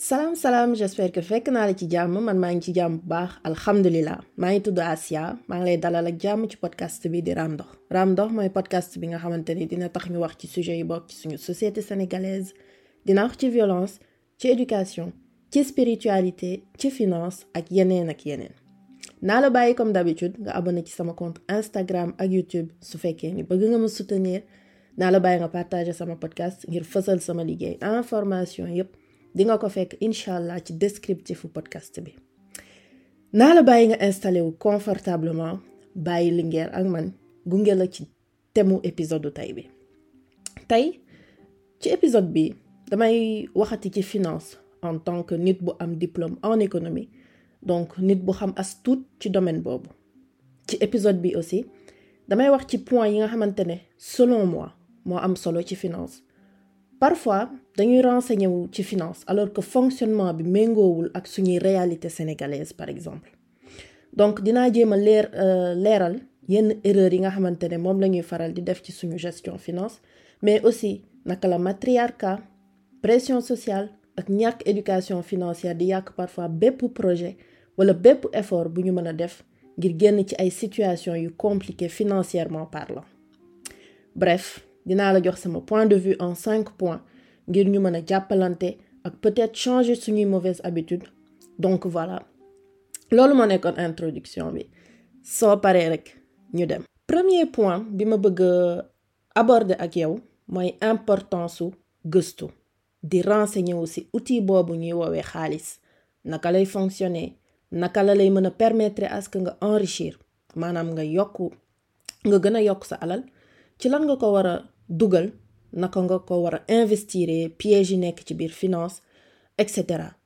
Salam, j'espère que fekk naa la ci jàmm man maa ngi ci jàmm bu baax alhamdulilah maa ngi tudd Asia maa ngi lay dalal ak jàmm ci podcast bi di Raam Ndox Raam Ndox mooy podcast bi nga xamante ni dina tax ñu wax ci sujet yi bokk ci suñu société sénégalaise dina wax ci violence ci éducation ci spiritualité ci finance ak yeneen naa la bàyyi comme d'habitude nga abonné ci sama compte Instagram ak YouTube su fekkee ni bëgg nga ma soutenir naa la bàyyi nga partager sama podcast ngir fësal sama liggéey information yépp di nga ko fekk inshallah ci descriptifu podcast bi naa la bàyyi nga installé wu confortablement bàyyi lingeer ak man gunge la ci temu épisode tey bi tey ci épisode bi damay waxati ci finance en tant que nit bu am diplôme en économie donc nit bu xam as tuut ci domaine boobu ci épisode bi aussi damay wax ci point yi nga xamante ne selon moi moo am solo ci finance parfois dañuy renseigner wu ci finance alors que fonctionnement bi méngoowul ak suñuy réalité sénégalaise par exemple donc dinaa jéem a leeral yenn erreur yi nga xamante ne moom la ñuy faral di def ci suñu gestion finance mais aussi naka la matriarcat pression sociale ak ñàkk éducation financière di yàq parfois bépp projet wala bépp effort bu ñu mën a def ngir génn ci ay situations yu compliquées financièrement parlant bref dinaa la jox sama point de vue en 5 points ngir ñu mën a jàppalante ak peut-être changer suñuy mauvaises habitudes donc voilà loolu moo nekkoon introduction bi soo paree rek ñu dem. Premier point bi ma bëgg aborder ak yow mooy importance su gëstu di renseigner wu ci outil boobu ñuy woowee xaalis naka lay fonctionner naka la lay mën a permettre à ce que nga enrichir maanaam nga gën a yokk sa alal ci lan nga ko war a dugal naka nga ko war a investir piège yi nekk ci biir finance etc.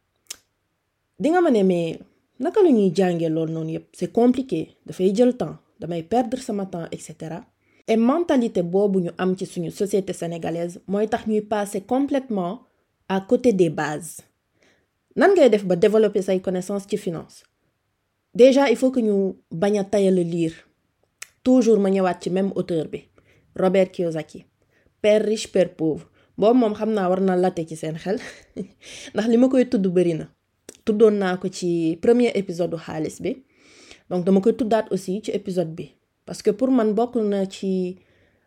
di nga ma ne mais naka la ñuy jàngee loolu noonu yépp c'est compliqué dafay jël temps damay perdre sama temps etc. et mentalité boobu ñu am ci suñu société sénégalaise mooy tax ñuy passer complètement à côté des bases. nan ngay def ba développer say connaissances ci finance déjà il faut que ñu bañ a tayal lire toujours ma ñëwaat ci même auteur bi Robert Kiyosaki Père riche père pauvre boobu moom xam naa war na latte ci seen xel ndax li ma koy tudd bari na tuddoon naa ko ci premier épisode xaalis bi donc dama koy tuddaat aussi ci épisode bi parce que pour man bokk na ci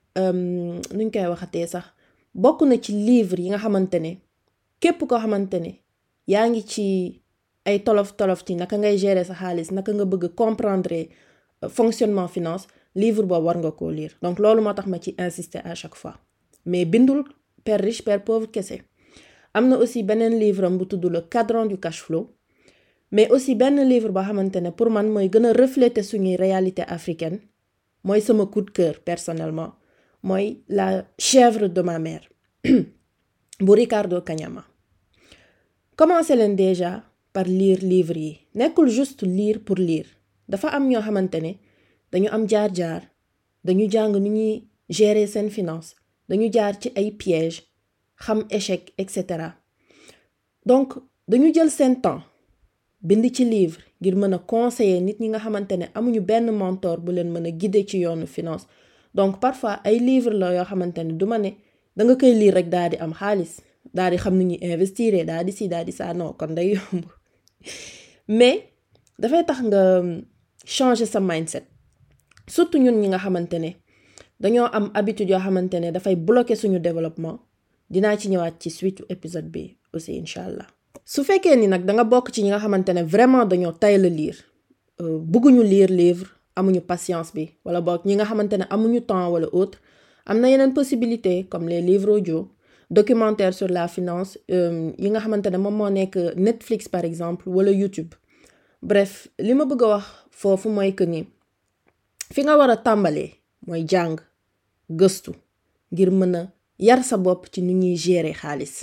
nuñ koy waxatee sax bokk na ci livre yi nga xamante ne képp koo xamante ne yaa ngi ci ay tolof ci naka ngay gérer sa xaalis naka nga bëgg comprendre fonctionnement finance livre boobu war nga koo lire donc loolu moo tax ma ci insister à chaque fois mais bindul Père riche père pauvre kese am na aussi beneen livre am bu tudd le cadran du cash flow mais aussi benn livre boo xamante ne pour man mooy gën a refléter suñuy réalité africaine mooy sama coup de cœur personnellement mooy la chèvre de ma mère bu Ricardo Kanyama. Commencez leen déjà par lire livre yi nekkul juste lire pour lire dafa am ñoo xamante ne dañu am jaar-jaar dañu jàng nu ñuy gérer seen finance dañu jaar ci ay pièges xam échec etc. donc dañu jël seen temps bind ci livre ngir mën a conseiller nit ñi nga xamante ne amuñu benn mentor bu leen mën a guider ci yoonu finance donc parfois ay livre la yoo xamante ne du ma ne da nga koy lire rek daal di am xaalis daal di xam ni ñuy investir daal di si daal di saa non kon day yomb mais dafay tax nga changer sa mindset surtout ñun ñi nga xamante ne dañoo am habitude yoo xamante ne dafay bloquer suñu développement dinaa ci ñëwaat ci suite épisode bi aussi incha allah. su fekkee ni nag da nga bokk ci ñi nga xamante ne vraiment dañoo tayal a lire bëgguñu lire livre amuñu patience bi wala boog ñi nga xamante ne amuñu temps wala autre am na yeneen possibilité comme les livres audio documentaires sur la finance yi nga xamante ne moom moo nekk Netflix par exemple wala YouTube. bref li ma bëgg a wax foofu mooy que ni fi nga war a tàmbalee mooy jàng gëstu ngir mën a yar sa bopp ci nu ñuy gérer xaalis.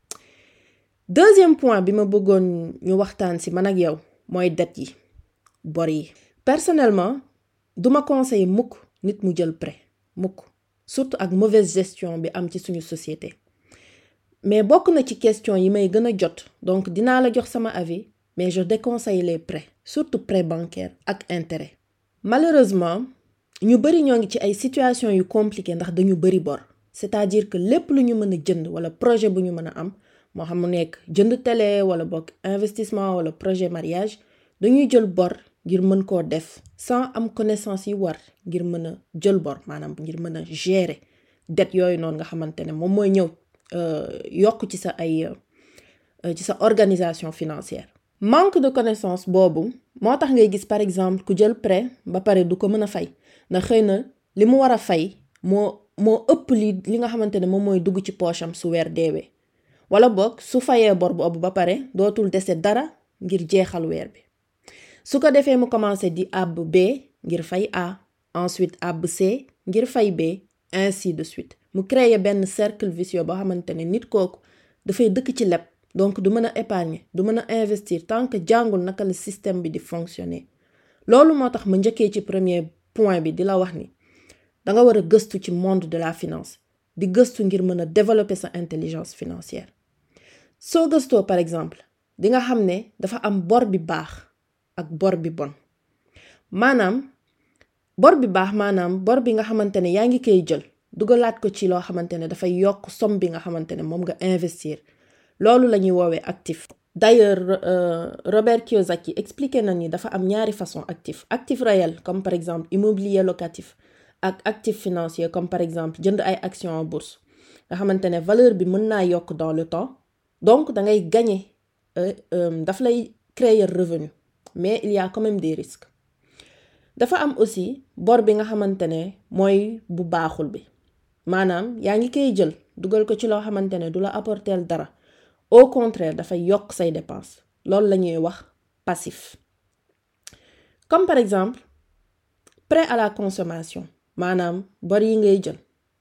Deuxième point bi ma bëggoon ñu waxtaan ci man ak yow mooy dette yi bor yi. personnellement duma conseiller mukk nit mu jël prêt mukk surtout ak mauvaise gestion bi am ci suñu société mais bokk na ci question yi may gën a jot donc dinaa la jox sama avis mais je déconseille les prêts surtout prêts bancaires ak intérêt. malheureusement ñu bari ñoo ngi ci ay situations yu compliquées ndax dañu bari bor c'est-à-dire que lépp lu ñu mën a jënd wala projet bu ñu mën a am moo xam mu nekk jënd télé wala bokk investissement wala projet mariage dañuy jël bor ngir mën koo def sans am connaissance yi war ngir mën a jël bor maanaam ngir mën a gérer dette yooyu noonu nga xamante ne moom mooy ñëw yokk ci sa organisation financière. Manque de connaissance boobu moo tax ngay gis par exemple ku jël prêt ba pare du ko mën a fay ndax xëy na li mu war a fay moo ëpp li nga xamante ne moom mooy dugg ci poche am su weer deewee wala boog su fayee bor boobu ba pare dootul dese dara ngir jeexal weer bi su ko defee mu commencé di àbb B ngir fay A ensuite àbb C ngir fay B ainsi de suite mu créer benn cercle vicieux boo xamante ne nit kooku dafay dëkk ci leb donc du mën a épargner du mën a investir tant que jàngul naka la système bi di fonctionner. Loolu moo tax ma njëkkee ci premier point bi di la wax ni danga war a gëstu ci monde de la finance di gëstu ngir mën a développer sa intelligence financière. Soo gëstoo par exemple di nga xam ne dafa am bor bi baax ak bor bi bon maanaam bor bi baax maanaam bor bi nga xamante ne yaa ngi koy jël dugalaat ko ci loo xamante ne dafay yokk somme bi nga xamante ne moom nga investir loolu la ñuy woowee actif. D'ailleurs Robert Kiyosaki expliqué na ni dafa am ñaari façon actif réel comme par exemple immobilier locatif ak actif financier comme par exemple jënd ay actions en bourse nga xamante ne valeur bi mën naa yokk dans le temps donc da ngay gagner daf lay créer revenu mais il y a quand même des risques. Dafa am aussi bor bi nga xamante ne mooy bu baaxul bi maanaam yaa ngi koy jël dugal ko ci loo xamante ne du la apporter dara au contraire dafay yokk say dépenses loolu la ñuy wax passif. Comme par exemple prêt à la consommation maanaam bor yi ngay jël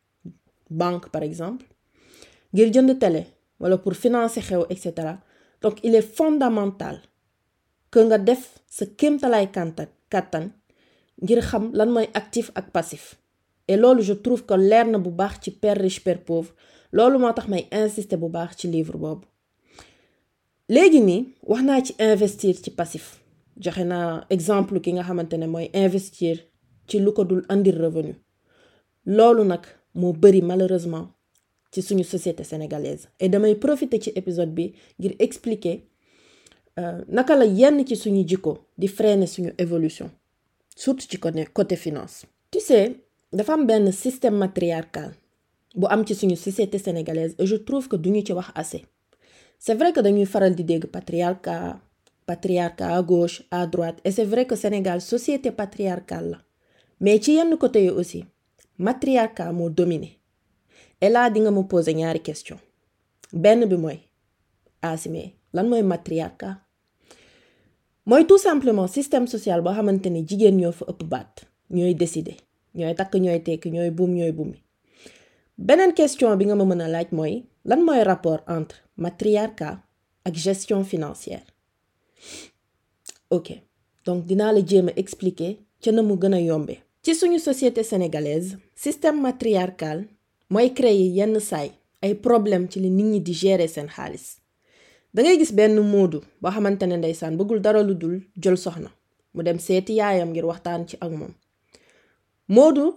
banque par exemple ngir jënd télé wala pour financer xew etc. Donc il est fondamental que nga def sa kéemtalaay kàttan ngir xam lan mooy actif ak passif et loolu je trouve que leer na bu baax ci Père riche Père pauvre loolu moo tax may insister bu baax ci livre boobu. Léegi nii wax naa ci investir ci passif joxe naa exemple ki nga xamante ne mooy investir ci lu ko dul andir revenu loolu nag moo bari malheureusement ci suñu société sénégalaise et damay profiter ci épisode bi ngir expliquer naka la yenn ci suñu jikko di freiner suñu évolution surtout ci côté finance. Tu sais dafa am benn système matriarcal bu am ci suñu société sénégalaise et je trouve que duñu ci wax assez. C'est vrai que dañuy faral di dégg patriarcat à gauche à droite et c'est vrai que Sénégal société patriarcale la mais ci yenn côté yi aussi matriarcat moo dominé et là di nga ma poser ñaari question benn bi mooy Assimé lan mooy matriarcat mooy tout simplement système social boo xamante ne jigéen ñoo fa ëpp baat ñooy décider ñooy takk ñooy tekki ñooy bumi beneen question bi nga ma mën a laaj mooy lan mooy rapport entre matriarcat ak gestion financière. Ok donc dinaa la jéem a expliquer ca na mu gën a yombee. Ci suñu société sénégalaise système matriarcal mooy créer yenn saay ay problème ci li nit ñi di gérer seen xaalis da ngay gis benn moodu boo xamante ne ndeysaan bëggul dara lu dul jël soxna mu dem seeti yaayam ngir waxtaan ci ak moom moodu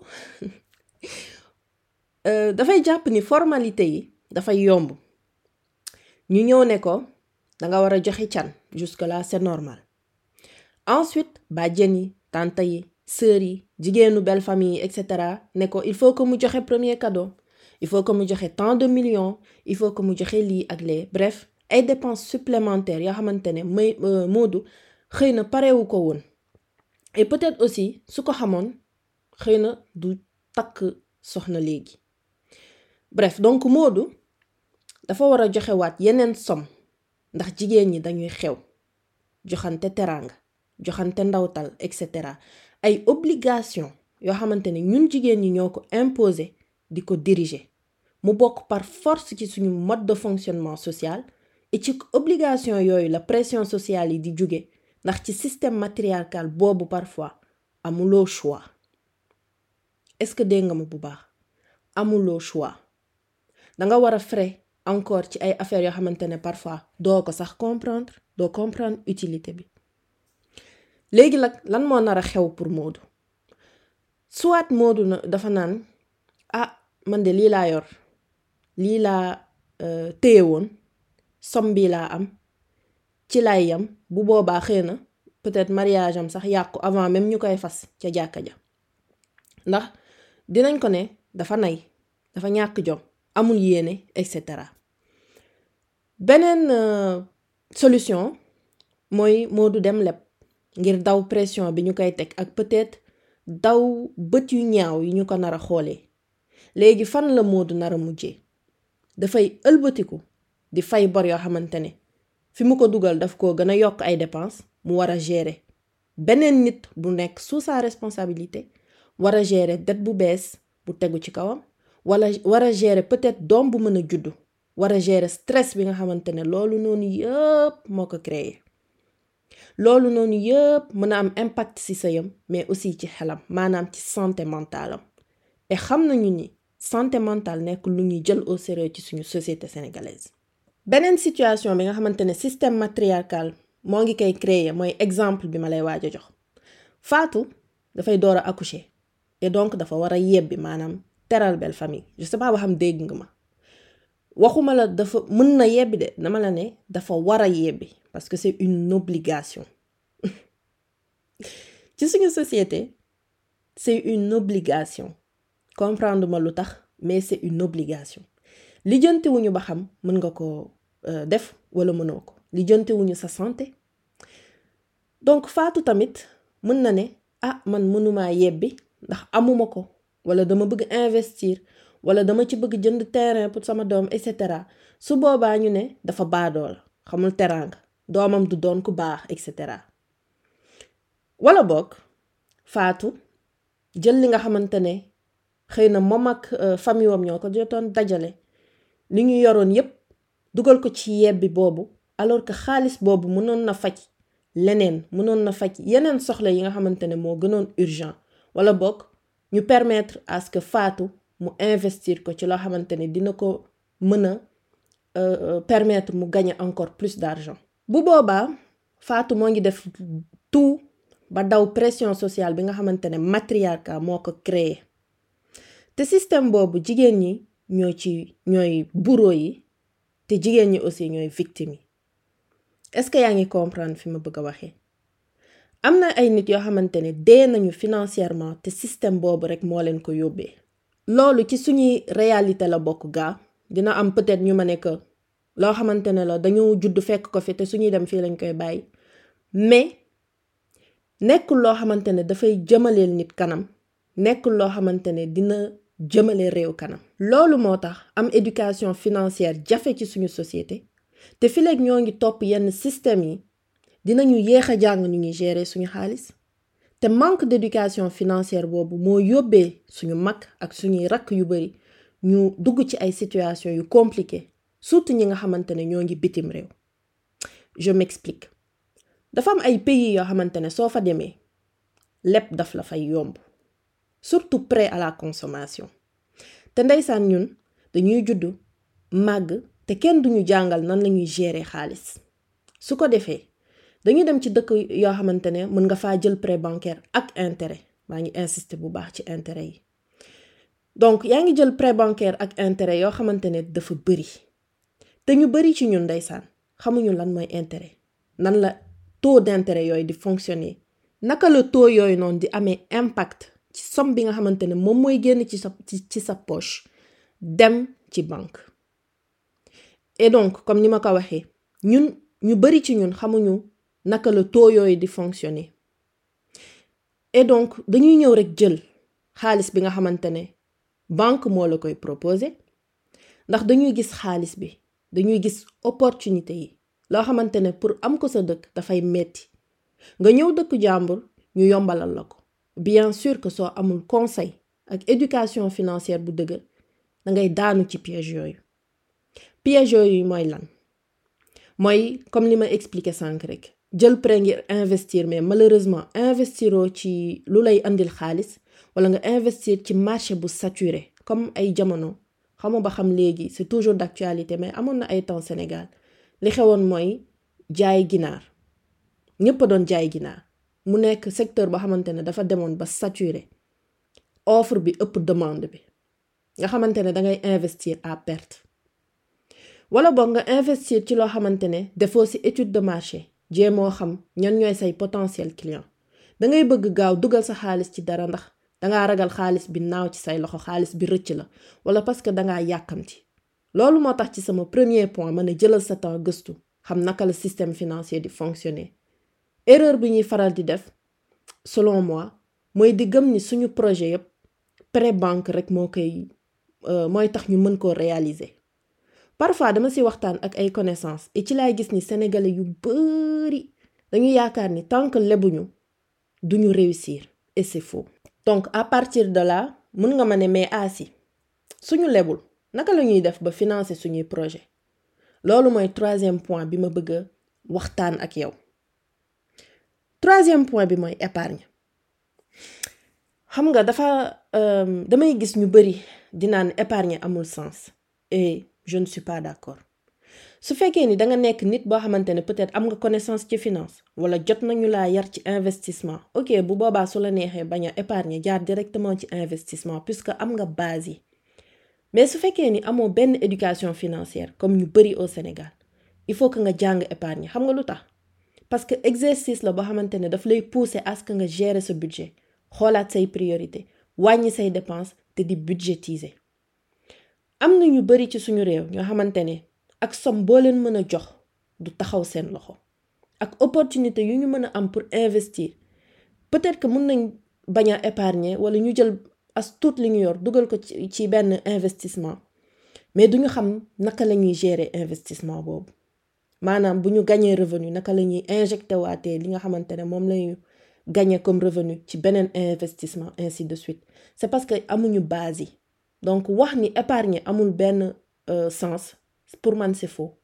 dafay jàpp ni formalité yi dafay yomb ñu ñëw ne ko danga war a joxe can jusque là c'est normal ensuite bàjjen yi tante yi sœur yi jigéenu belle famille etc. ne ko il faut que mu joxe premier cadeau il faut que mu joxe tant de millions il faut que mu joxe lii ak lee bref ay dépenses supplémentaires yoo xamante ne moodu xëy na parewu ko woon et peut-être aussi su ko xamoon xëy na du takk soxna léegi. Bref donc moodu dafa war a joxewaat yeneen somme ndax jigéen ñi dañuy xew joxante teraanga joxante ndawtal etc. ay obligation yoo xamante ne ñun jigéen ñi ñoo ko imposer di ko diriger mu bokk par force ci suñu mode de fonctionnement social et ci obligation yooyu la pression sociale yi di jóge ndax ci système matriarcal boobu parfois amuloo choix. Est-ce que dégg nga ma bu baax amuloo choix danga war a frais encore ci ay affaires yoo xamante ne parfois doo ko sax comprendre utilité bi. Léegi nag lan moo nar a xew pour Moodu soit Moodu dafa naan man de lii laa yor lii laa téye woon somme bi laa am ci lay yam bu boobaa xëy na peut-être mariage am sax yàqu avant même ñu koy fas ca jàkka ja ndax dinañ ko ne dafa nay dafa ñàkk jom amul yéene et cetera. beneen solution mooy Modou dem leb ngir daw pression bi ñu koy teg ak peut-être daw bët yu ñaaw yi ñu ko nar a xoolee. léegi fan la Modou nar a mujjee dafay ëlbatiku di fay bor yoo xamante ne fi mu ko dugal daf koo gën a yokk ay dépenses mu war a gérer beneen nit bu nekk sous sa responsabilité war a gérer dette bu bees bu tegu ci kawam wala war a gérer peut-être doom bu mën a juddu war a gérer stress bi nga xamante ne loolu noonu yëpp moo ko créé loolu noonu yëpp mën a am impact ci sëyam mais aussi ci xelam maanaam ci santé mentale am et xam nañu ni santé mentale nekk lu ñuy jël au sérieux ci suñu société sénégalaise. beneen situation bi nga xamante ne système matriarcal moo ngi koy créer mooy exemple bi ma lay waaj a jox Fatou dafay door a accoucher et donc dafa war a yebbi maanaam teral belle famille je sais pas waxam dégg nga ma waxuma la dafa mën na yebbi de dama la ne dafa war a yebbi parce que c'est une obligation ci suñu société c'est une obligation comprendre ma lu tax mais c'est une obligation lijjantewuñu ba xam mën nga ko def wala mënoo ko lijjantewuñu sa santé donc Fatou tamit mën na ne man mënumaa yebbi ndax amuma ko wala dama bëgg investir wala dama ci bëgg jënd terrain pour sama doom et cetera su boobaa ñu ne dafa baadoo la xamul teraanga doomam du doon ku baax et cetera wala boog Fatou jël li nga xamante ne xëy na moom ak famille wam ñoo ko jotoon dajale li ñu yoroon yépp dugal ko ci yebbi boobu alors que xaalis boobu mënoon na faj leneen mënoon na faj yeneen soxla yi nga xamante ne moo gënoon urgent wala boog ñu permettre à ce que Fatou mu investir ko ci loo xamante ne dina ko mën a permettre mu gagner encore plus d'argent. bu boobaa Fatou moo ngi def tout ba daw pression sociale bi nga xamante ne matriarcat moo ko créé te système boobu jigéen ñi ñooy bourreau yi te jigéen ñi aussi ñooy victime yi est-ce que yaa ngi comprendre fi ma bëgg a waxee am na ay nit yoo xamante ne dee nañu financièrement te système boobu rek moo leen ko yóbbee loolu ci suñuy réalité la bokk gaa dina am peut-être ñu ma ne que loo xamante ne la dañoo judd fekk ko fi te suñuy dem fii lañ koy bàyyi mais nekkul loo xamante ne dafay jëmaleel nit kanam nekkul loo xamante ne dina jëmale réew kanam loolu moo tax am éducation financière jafe ci suñu société te fi léegi ñoo ngi topp yenn système yi dinañu yéex a jàng ñu ngi gérer suñu xaalis te manque d'éducation financière boobu moo yóbbee suñu mag ak suñuy rakk yu bari ñu dugg ci ay situation yu compliquées surtout ñi nga xamante ne ñoo ngi bitim réew. je m'explique dafa am ay pays yoo xamante ne soo fa demee lépp daf la fay yomb surtout prêt à la consommation te ndeysaan ñun dañuy juddu màgg te kenn duñu jàngal nan lañuy gérer xaalis su ko defee dañuy dem ci dëkk yoo xamante ne mën nga faa jël prêt bancaire ak intérêt maa ngi insister bu baax ci intérêt yi donc yaa ngi jël prêt bancaire ak intérêt yoo xamante ne dafa bari te ñu bari ci ñun ndeysaan xamuñu lan mooy intérêt nan la taux d'intérêt yooyu di fonctionner naka la taux yooyu noonu di amee impact ci somme bi nga xamante ne moom mooy génn ci sa poche dem ci banque et donc comme ni ma ko waxee ñu bari ci ñun xamuñu naka la taux yooyu di fonctionner et donc dañuy ñëw rek jël xaalis bi nga xamante ne banque moo la koy proposer ndax dañuy gis xaalis bi dañuy gis opportunité yi loo xamante ne pour am ko sa dëkk dafay metti nga ñëw dëkk jàmbur ñu yombalal la ko bien sûr que soo amul conseil ak éducation financière bu dëgër da ngay daanu ci piège yooyu mooy lan mooy comme li ma expliqué sànq rek jël prêt ngir investir mais malheureusement investiroo ci lu lay andil xaalis wala nga investir ci marché bu saturé comme ay jamono xamu ba xam léegi c'est toujours d'actualité mais amoon na ay temps Sénégal li xewoon mooy jaay ginaar ñëpp a doon jaay ginaar mu nekk secteur boo xamante ne dafa demoon ba saturé offre bi ëpp demande bi nga xamante ne dangay investir à perte wala boog nga investir ci loo xamante ne defoo ci étude de marché jéemoo xam ñan ñooy say potentiel client dangay bëgg gaaw dugal sa xaalis ci dara ndax dangaa ragal xaalis bi naaw ci say loxo xaalis bi rëcc la wala parce que dangaa yàkkamti loolu moo tax ci sama premier point ma ne jëlal sa temps gëstu xam naka la système financier di fonctionner erreur bi ñuy faral di def selon moi mooy di gëm ni suñu projet yépp pré banque rek mooy tax ñu mën koo réaliser parfois dama ci waxtaan ak ay connaissances et ci laay gis ni sénégalais yu bari dañu yaakaar ni tant que lebuñu duñu réussir et c'est faux. Donc à partir de là mën nga ma ne mais asi suñu lebul naka la ñuy def ba financer suñuy projet loolu mooy troisième point bi ma bëgg a waxtaan ak yow. Troisième point bi mooy épargne xam nga damay gis ñu bari di naan épargne amul sens et je ne suis pas d'accord su fekkee ni danga nekk nit boo xamante ne peut-être am nga connaissance ci finance wala jot nañu laa yar ci investissement ok bu boobaa su la neexee bañ a épargner jaar directement ci investissement puisque am nga base yi mais su fekkee ni amoo benn éducation financière comme ñu bari au Sénégal il faut que nga jàng épargne xam nga lu tax parce que exercice la boo xamante ne daf lay pousser à ce que nga gérer sa budget xoolaat say priorité wàññi say dépenses te di budgétiser am na ñu bari ci suñu réew ñoo xamante ne ak somme boo leen mën a jox du taxaw seen loxo ak opportunité yu ñu mën a am pour investir peut-être que mën nañ bañ a épargner wala ñu jël as tuut li ñu yor dugal ko ci benn investissement mais duñu xam naka la ñuy gérer investissement boobu maanaam bu ñu gañee revenu naka la ñuy injecté waatee li nga xamante ne moom lañu gagné comme revenu ci beneen investissement ainsi de suite c'est parce que amuñu base yi donc wax ni épargne amul benn sens pour man c'est faux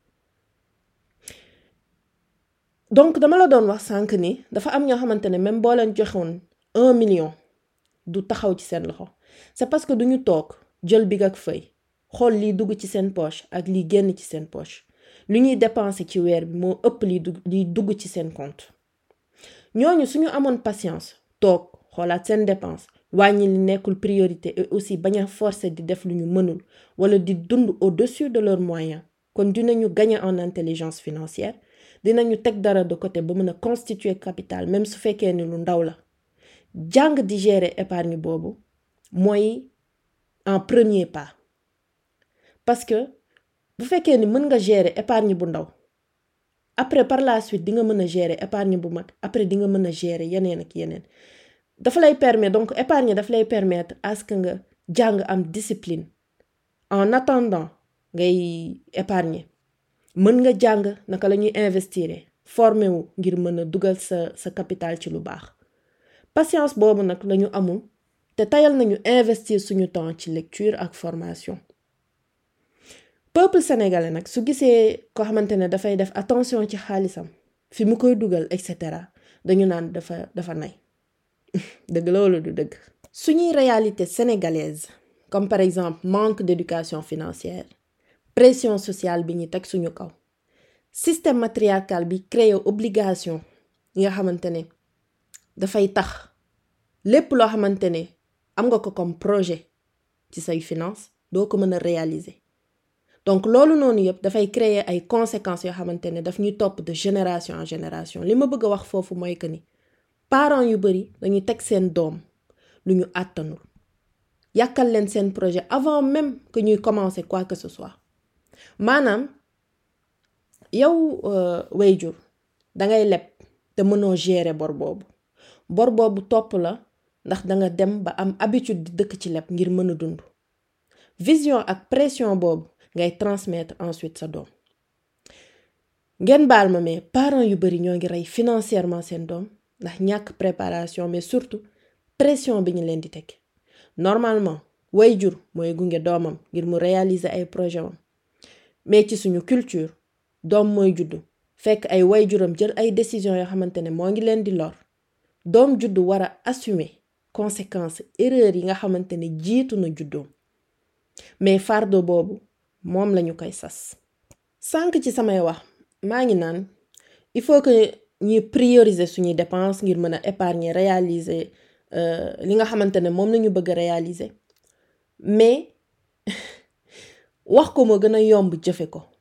donc dama la doon wax sànq ni dafa am ñoo xamante ne même boo leen joxoon 1 million du taxaw ci seen loxo c'est parce que duñu toog jël big ak feuille xool liy dugg ci seen poche ak liy génn ci seen poche lu ñuy dépenser ci weer bi moo ëpp liy dugg ci seen compte ñooñu suñu amoon patience toog xoolaat seen dépense wàññi li nekkul priorité et aussi bañ a forcer di def lu ñu mënul wala di dund au-dessus de leurs moyens kon dinañu gagner en intelligence financière dinañu teg dara de côté ba mën a constituer capital même su fekkee ni lu ndaw la jàng di gérer épargne boobu mooy en premier pas parce que bu fekkee ni mën nga gérer épargne bu ndaw après par la suite di nga mën a gérer épargne bu mag après di nga mën a gérer yeneen ak yeneen dafa lay permettre donc épargne dafa lay permettre à ce que nga jàng am discipline en attendant ngay épargner mën nga jàng naka la ñuy investir formé wu ngir mën a dugal sa capital ci lu baax patience boobu nag lañu amul te tayal nañu investir suñu temps ci lecture ak formation peuple sénégalais nag su gisee ko xamante ne dafay def attention ci xaalisam fi mu koy dugal etc dañu naan dafa nay dëgg loolu du dëgg suñuy réalité sénégalaise comme par exemple manque d'éducation financière pression sociale bi ñu teg suñu kaw système matriarcal bi créé obligation yi nga xamante ne dafay tax lépp loo xamante ne am nga ko comme projet ci say finance doo ko mën a réaliser donc loolu noonu yëpp dafay créer ay conséquences yoo xamante ne daf ñuy topp de génération en génération li ma bëgg a wax foofu mooy que ni parents yu bari dañuy teg seen doom lu ñu àttanul yàkkal leen seen projet avant même que ñuy commencer quoi que ce soit maanaam yow wayjur dangay leb te mënoo gérer bor boobu topp la ndax danga dem ba am habitude di dëkk ci leb ngir mën a dund vision ak pression boobu ngay transmettre ensuite sa doom ngeen baal ma mais parents yu bari ñoo ngi rey financièrement seen doom ndax ñàkk préparation mais surtout pression bi ñu leen di teg normalement wayjur mooy gunge doomam ngir mu réaliser ay projet am mais ci suñu culture doom mooy juddu fekk ay wayjuram jël ay décisions yoo xamante ne moo ngi leen di lor doom juddu war a assumer conséquences erreurs yi nga xamante ne jiitu na juddoom mais fardeau boobu moom lañu koy sas sànq ci samay wax maa ngi naan il faut que ñuy prioriser suñuy dépenses ngir mën a épargner réaliser li nga xamante ne moom lañu bëgg a réaliser mais wax ko moo gën a yomb jëfe ko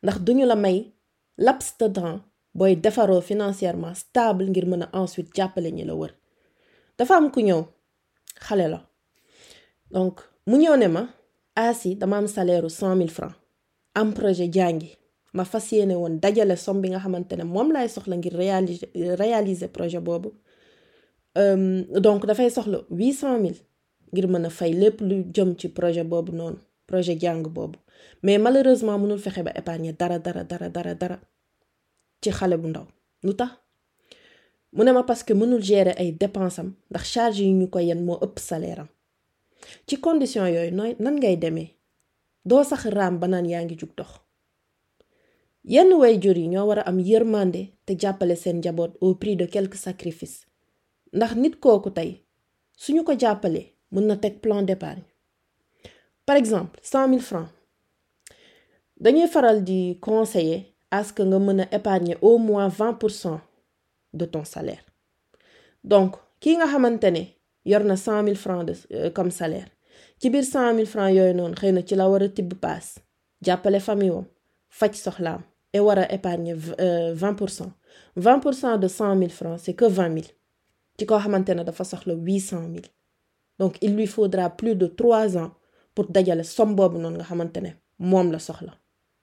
ndax duñu la may laps de temps booy defaroo financièrement stable ngir mën a ensuite jàppale ñi la wër. dafa am ku ñëw xale la donc mu ñëw ne ma Asi dama am salaire 100 000 francs am projet jàngi ma fas yéene woon dajale somme bi nga xamante ne moom laay soxla ngir réaliser projet boobu donc dafay soxla 800 000 ngir mën a fay lépp lu jëm ci projet boobu noonu projet jàng boobu mais malheureusement mënul fexe ba épargner dara ci xale bu ndaw lu tax mu ne ma parce que mënul gérer ay dépenses am ndax charge yi ñu ko yen moo ëpp salaire am ci condition yooyu nan ngay demee doo sax raam ba naan yaa ngi jug dox. yenn waajur yi ñoo war a am yërmande te jàppale seen njaboot au prix de quelques sacrifices ndax nit kooku tey suñu ko jàppalee mën na teg plan d'épargne. par exemple 100 000 francs dañuy faral di conseiller à ce que nga mën a épargner au moins 20% de ton salaire. donc kii nga xamante ne yor na 100 000 francs comme salaire ci biir 100 000 francs yooyu noonu xëy na ci la war a tibb paas jàppale famille wam faj soxlaam et war a épargner 20%. 20% de 100 000 francs c'est que 20 000 ci koo xamante ne dafa soxla 800 000. donc il lui faudra plus de 3 ans pour dajale somme boobu noonu nga xamante ne moom la soxla.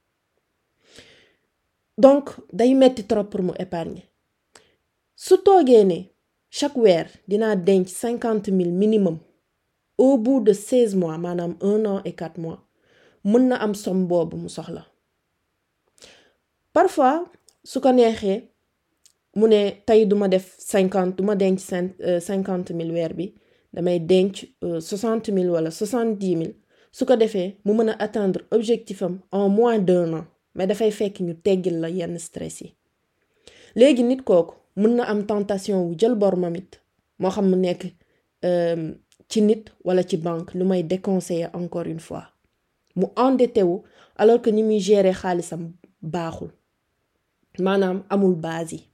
donc day metti trop pour mu épargner su toogee ne chaque weer dinaa denc 50 000 minimum au bout de 16 mois maanaam 1 an et 4 mois mën na am somme boobu mu soxla. parfois su ko neexee mu ne tey duma def 50 duma denc 50 000 weer bi damay denc 60 000 wala 70 000 su ko defee mu mën a atteindre objectif am en moins d'1 an mais dafay fekk ñu teggil la yenn stress yi. léegi nit kooku mën na am tentation wu jël bor mamit moo xam mu nekk ci nit wala ci banque lu may déconseiller encore une fois mu endetté wu alors que ni muy gérer xaalisam baaxul maanaam amul base yi.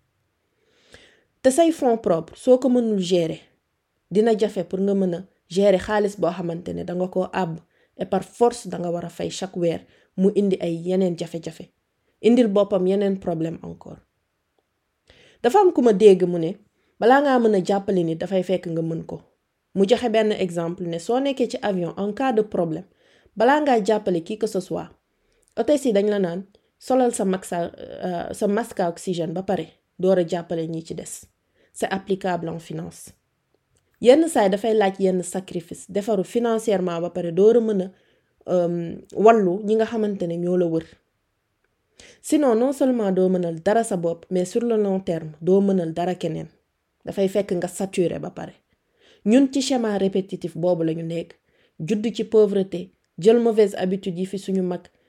te say fonds propres soo ko mënul gérer dina jafe pour nga mën a gérer xaalis boo xamante ne danga ko àbb et par force danga war a fay chaque weer mu indi ay yeneen jafe-jafe indil boppam yeneen problème encore. dafa am ku ma dégg mu ne balaa ngaa mën a jàppale nit dafay fekk nga mën ko. mu joxe benn exemple ne soo nekkee ci avion en cas de problème balaa ngaa jàppale qui que ce soit hôtesse yi dañ la naan solal sa masque à oxygène ba pare door a jàppale ñi ci des. c'est applicable en finance. yenn saay dafay laaj yenn sacrifice defaru financièrement ba pare door a mën a wallu ñi nga xamante ne ñoo la wër. sinon non seulement doo mënal dara sa bopp mais sur le long terme doo mënal dara keneen dafay fekk nga saturé ba pare. ñun ci schéma répétitif boobu lañu nekk judd ci pauvreté jël mauvaise habitude yi fi suñu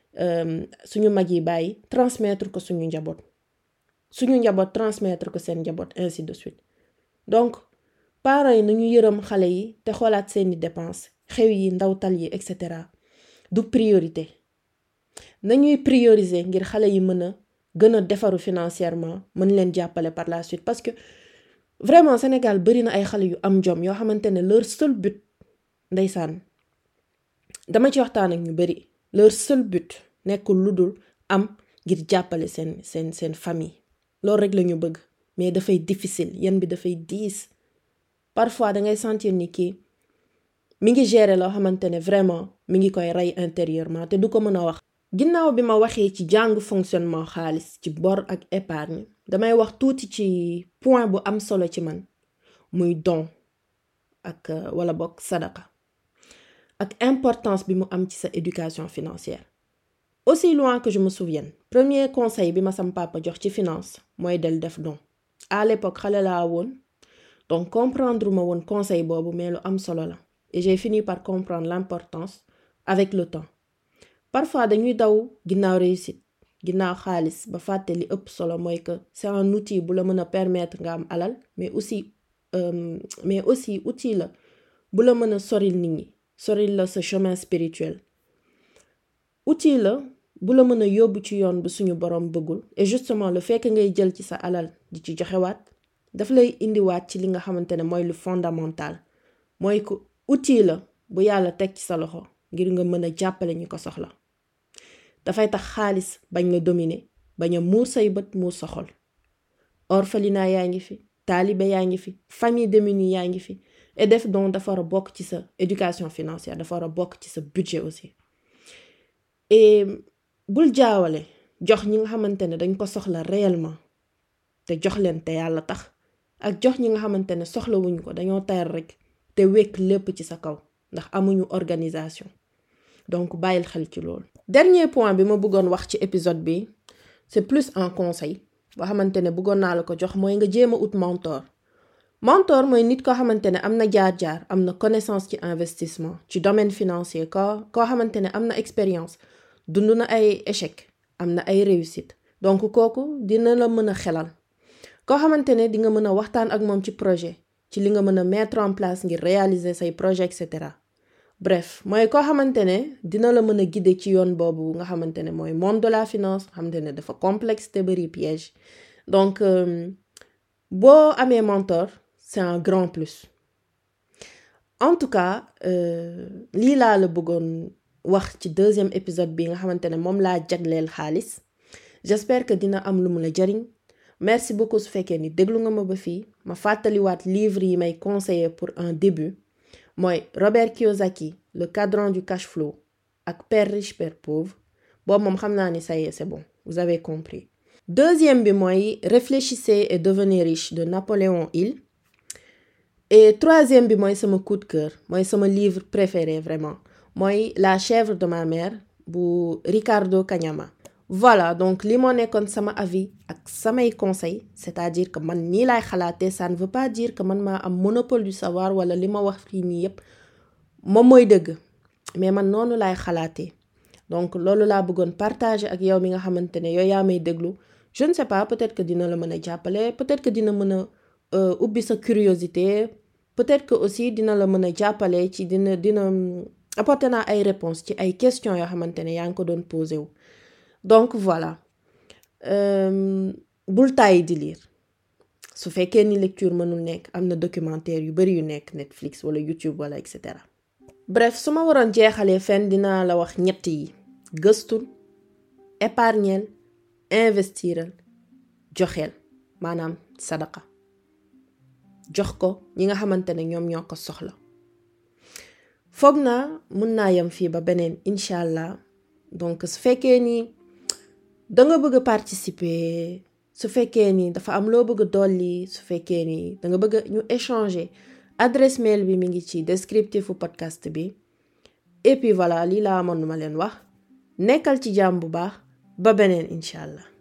mag yi bàyyi transmettre ko suñu njaboot transmettre ko seen njaboot ainsi de suite. donc parents yi nañu yërëm xale yi te xoolaat seeni dépenses xew yi ndawtal yi etc. du priorité. nañuy prioriser ngir xale yi mën a gën a defaru financièrement mën leen jàppale par la suite parce que vraiment Sénégal bari na ay xale yu am jom yoo xamante ne leur seul but ndeysaan dama ci waxtaan ak ñu bari leur seul but nekkul lu dul am ngir jàppale seen famille loolu rek la ñu bëgg mais dafay difficile yan bi dafay diis parfois dangay sentir ni kii mi ngi gérer loo xamante ne vraiment mi ngi koy rey intérieurement te du ko mën a wax. ginnaaw bi ma waxee ci jàng fonctionnement xaalis ci bor ak épargne damay wax tuuti ci point bu am solo ci man muy don ak wala bokk sadaqa ak importance bi mu am ci sa éducation financière. aussi loin que je me souvienne premier conseil bi ma sam papa jox ci finance mooy del def don. à l'époque xale laa woon donc comprendre ma woon conseil boobu mais lu am solo la et j'ai fini par comprendre l'importance avec le temps. parfois dañuy daw ginnaaw réussite ginnaaw xaalis ba fàtte li ëpp solo mooy que c'est un outil bu la mën a permettre nga am alal mais aussi outil la bu la mën a soril nit ñi soril la sa chemin spirituel. outil la bu la mën a yóbbu ci yoon bu suñu borom bëggul et justement le fait que ngay jël ci sa alal di ci joxewaat daf lay indiwaat ci li nga xamante ne mooy lu fondamental mooy que outil la bu yàlla teg ci sa loxo ngir nga mën a jàppale ñi ko soxla. dafay tax xaalis bañ la dominer bañ a muur say bët muur sa xol. Orphelinat yaa ngi fi taalibe yaa ngi fi famille démunie yaa ngi fi et def donc dafa war a bokk ci sa éducation financière dafa war a bokk ci sa budget aussi. Et bul jaawale jox ñi nga xamante ne dañ ko soxla réellement te jox leen te yàlla tax ak jox ñi nga xamante ne soxlawuñ ko dañoo tayal rek te wekk lépp ci sa kaw ndax amuñu organisation. Donc bàyyil xel ci loolu. Dernier point bi ma bëggoon wax ci épisode bi c'est plus un conseil boo xamante ne bëggoon naa la ko jox mooy nga jéem a ut mentor. Mentor mooy nit koo xamante ne am na jaar-jaar am na connaissance ci investissement ci domaine financier koo xamante ne am na expérience dund na ay échec am na ay réussite donc kooku dina la mën a xelal koo xamante ne di nga mën a waxtaan ak moom ci projet ci li nga mën a mettre en place ngir réaliser say projet etc. Bref mooy koo xamante ne dina la mën a guider ci yoon boobu nga xamante ne mooy monde de la finance xamante ne dafa complexe te bari piège. Donc boo amee mentor c'est un grand plus. En tout cas lii laa la bëggoon wax ci deuxième épisode bi nga xamante ne moom laa jagleel xaalis. J'espère que dina am lu mu la jariñ. Merci beaucoup su fekkee ni déglu nga ma ba fii ma fàttaliwaat livre yi may conseiller pour un début mooy Robert Kiyosaki le cadran du cash flow ak Père riche Père pauvre boobu moom xam naa ni ça y est c'est bon vous avez compris. Deuxième bi mooy Réfléchissez et devenez riche de Napoléon Hill. Et troisième bi mooy sama coup de cœur mooy sama livre préféré vraiment mooy La chèvre de ma mère bu Ricardo Cagnama. Voilà donc li moo nekkoon sama avis ak samay conseils c'est-à-dire que man nii laay xalaatee ça ne veut pas dire que man maa am monopole du savoir wala li ma wax fii nii yépp moom mooy dëgg mais man noonu laay xalaatee donc loolu laa bëggoon partager ak yow mi nga xamante ne yow yaa may déglu je ne sais pas peut-être que dina la mën a jàppale peut-être que dina mën a ubbi sa curiosité peut-être que aussi dina la mën a jàppale ci dina apporter naa ay réponses ci ay questions yoo xamante ne yaa ngi ko doon posé wu. Donc voilà bul tàyyi di lire su fekkee ni lecture mënul nekk am na documentaire yu bari yu nekk Netflix wala YouTube wala etc. Bref su ma waroon jeexalee fenn dinaa la wax ñett yi gëstul épargnel investiral joxeel maanaam sadaqa jox ko ñi nga xamante ne ñoom ñoo ko soxla. Foog naa mun naa yem fii ba beneen incha allah donc su fekkee ni danga bëgg a participer su fekkee ni dafa am loo bëgg a dolli su fekkee ni danga bëgg ñu échanger adresse mail bi mi ngi ci descriptifu podcast bi et puis voilà lii laa amoon ma leen wax nekkal ci jàmm bu baax ba beneen incha allah.